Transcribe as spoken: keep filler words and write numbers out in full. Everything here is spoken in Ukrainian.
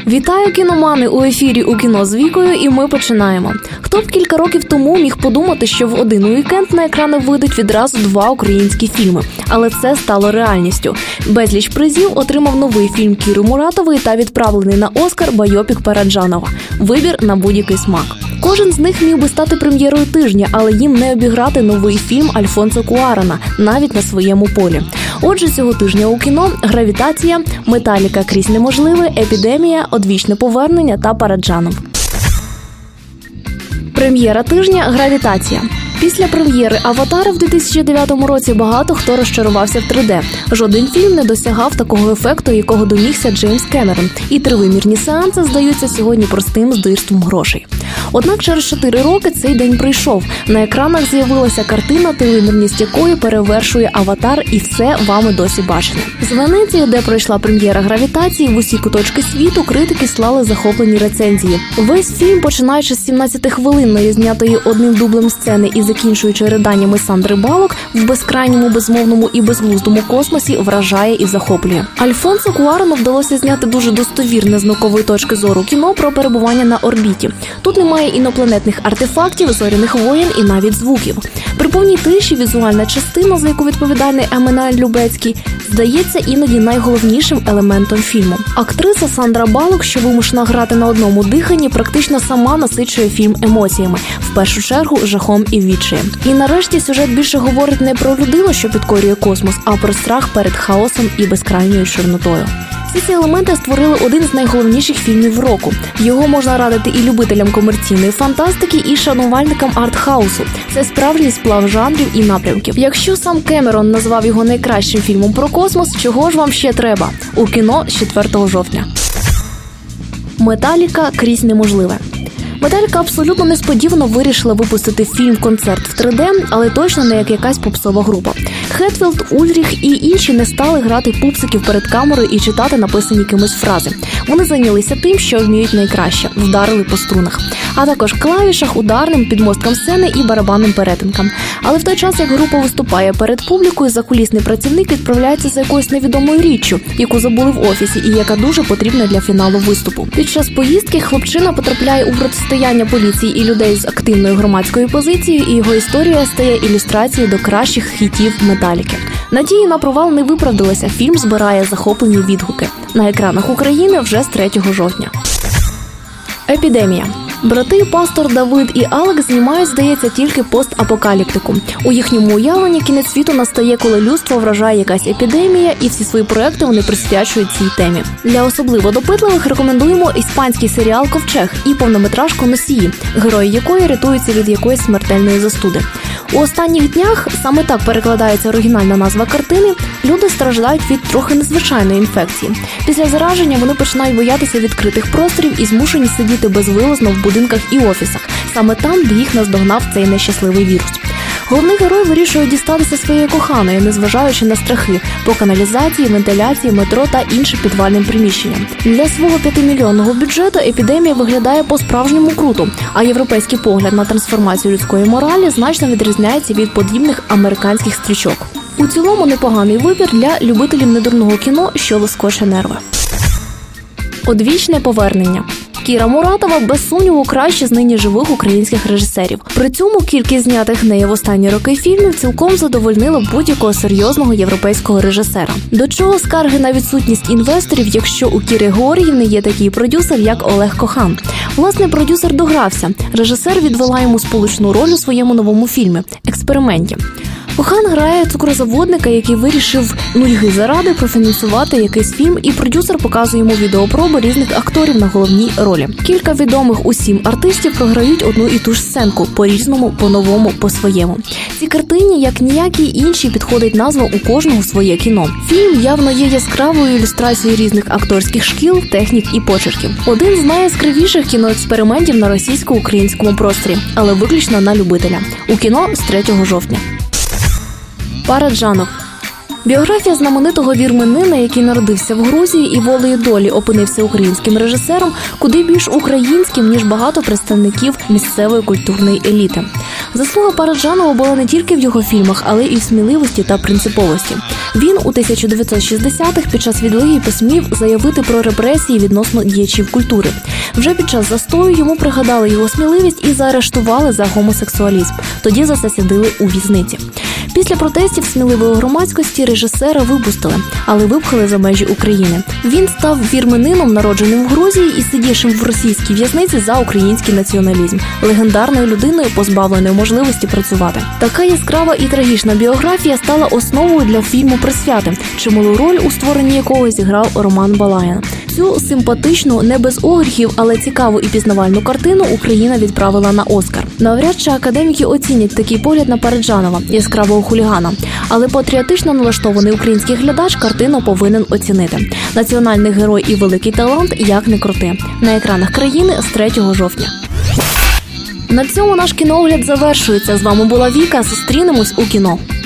Вітаю, кіномани! У ефірі «У кіно з Вікою» і ми починаємо. Хто б кілька років тому міг подумати, що в один уікенд на екрани вийдуть відразу два українські фільми. Але це стало реальністю. Безліч призів отримав новий фільм Кіри Муратової та відправлений на Оскар байопік Параджанова. Вибір на будь-який смак. Кожен з них міг би стати прем'єрою тижня, але їм не обіграти новий фільм Альфонсо Куарона, навіть на своєму полі. Отже, цього тижня у кіно «Гравітація», «Металіка. Крізь неможливе», «Епідемія», «Одвічне повернення» та «Параджанов». Прем'єра тижня «Гравітація». Після прем'єри «Аватара» в дві тисячі дев'ятому році багато хто розчарувався в три де. Жоден фільм не досягав такого ефекту, якого домігся Джеймс Кемерон. І тривимірні сеанси здаються сьогодні простим здирством грошей. Однак через чотири роки цей день прийшов. На екранах з'явилася картина, тривимірність якої перевершує «Аватар», і все вами досі бачено. З Венеції, де пройшла прем'єра «Гравітації», в усі куточки світу критики слали захоплені рецензії. Весь фільм, починаючи з сімнадцятихвилинної, знятої одним дублем сцени і закінчуючи риданнями Сандри Баллок, в безкрайньому, безмовному і безглуздому космосі вражає і захоплює. Альфонсо Куарону вдалося зняти дуже достовірне з наукової точки зору кіно про перебування на орбіті. Тут немає інопланетних артефактів, зоряних воєн і навіть звуків. При повній тиші візуальна частина, за яку відповідальний Еммануель Любецький, здається іноді найголовнішим елементом фільму. Актриса Сандра Баллок, що вимушена грати на одному диханні, практично сама насичує фільм емоціями, в першу чергу жахом і відчаєм. І нарешті сюжет більше говорить не про людину, що підкорює космос, а про страх перед хаосом і безкрайньою чорнотою. Всі ці елементи створили один з найголовніших фільмів року. Його можна радити і любителям комерційної фантастики, і шанувальникам арт-хаусу. Це справжній сплав жанрів і напрямків. Якщо сам Кемерон назвав його найкращим фільмом про космос, чого ж вам ще треба? У кіно з четвертого жовтня. «Металіка. Крізь неможливе». Металіка абсолютно несподівано вирішила випустити фільм-концерт в три де, але точно не як якась попсова група. Хетфілд, Ульріх і інші не стали грати пупсиків перед камерою і читати написані кимось фрази. Вони зайнялися тим, що вміють найкраще – вдарили по струнах. А також клавішах, ударним, підмосткам сцени і барабанним перетинкам. Але в той час, як група виступає перед публікою, закулісний працівник відправляється за якоюсь невідомою річчю, яку забули в офісі і яка дуже потрібна для фіналу виступу. Під час поїздки хлопчина потрапляє у протистояння поліції і людей з активною громадською позицією, і його історія стає ілюстрацією до кращих хітів Металіки. Надії на провал не виправдалися, фільм збирає захоплені відгуки. На екранах України вже з третього жовтня. Епідемія. Брати Пастор Давид і Алек знімають, здається, тільки постапокаліптику. У їхньому уявленні кінець світу настає, коли людство вражає якась епідемія, і всі свої проекти вони присвячують цій темі. Для особливо допитливих рекомендуємо іспанський серіал «Ковчег» і повнометражку «Носії», герої якої рятуються від якоїсь смертельної застуди. У останніх днях, саме так перекладається оригінальна назва картини, люди страждають від трохи незвичайної інфекції. Після зараження вони починають боятися відкритих просторів і змушені сидіти безвилазно в будинках і офісах, саме там, де їх наздогнав цей нещасливий вірус. Головний герой вирішує дістатися своєї коханої, незважаючи на страхи, по каналізації, вентиляції, метро та іншим підвальним приміщенням. Для свого п'ятимільйонного бюджету епідемія виглядає по-справжньому круто, а європейський погляд на трансформацію людської моралі значно відрізняється від подібних американських стрічок. У цілому непоганий вибір для любителів недурного кіно, що лоскоче нерви. Одвічне повернення. Кіра Муратова, без сумніву, краще з нині живих українських режисерів. При цьому кількість знятих нею в останні роки фільмів цілком задовольнила будь-якого серйозного європейського режисера. До чого скарги на відсутність інвесторів, якщо у Кіри Георгіївни є такий продюсер, як Олег Кохан? Власне, продюсер догрався. Режисер відвела йому сполучну роль у своєму новому фільмі «Експерименті». Кохан грає цукрозаводника, який вирішив нудьги заради профінансувати якийсь фільм, і продюсер показує йому відеопроби різних акторів на головній ролі. Кілька відомих усім артистів програють одну і ту ж сценку, по-різному, по-новому, по-своєму. Цій картині, як ніякі інші, підходить назва «У кожного своє кіно». Фільм явно є яскравою ілюстрацією різних акторських шкіл, технік і почерків. Один з найяскравіших кіноекспериментів на російсько-українському просторі, але виключно на любителя. У кіно з третього жовтня. Параджанов. Біографія знаменитого вірменина, який народився в Грузії і волею долі опинився українським режисером, куди більш українським, ніж багато представників місцевої культурної еліти. Заслуга Параджанова була не тільки в його фільмах, але і в сміливості та принциповості. Він у тисяча дев'ятсот шістдесятих під час відлиги посмів заявити про репресії відносно діячів культури. Вже під час застою йому пригадали його сміливість і заарештували за гомосексуалізм. Тоді засадили у в'язниці. Після протестів сміливої громадськості режисера випустили, але випхали за межі України. Він став вірменином, народженим в Грузії і сидівшим в російській в'язниці за український націоналізм, легендарною людиною, позбавленою можливості працювати. Така яскрава і трагічна біографія стала основою для фільму «Присвяти», чималу роль у створенні якого зіграв Роман Балаян. Цю симпатичну, не без огріхів, але цікаву і пізнавальну картину Україна відправила на Оскар. Навряд чи академіки оцінять такий погляд на Параджанова, яскравого хулігана. Але патріотично налаштований український глядач картину повинен оцінити. Національний герой і великий талант, як не крути. На екранах країни з третього жовтня. На цьому наш кіноогляд завершується. З вами була Віка. Зустрінемось у кіно.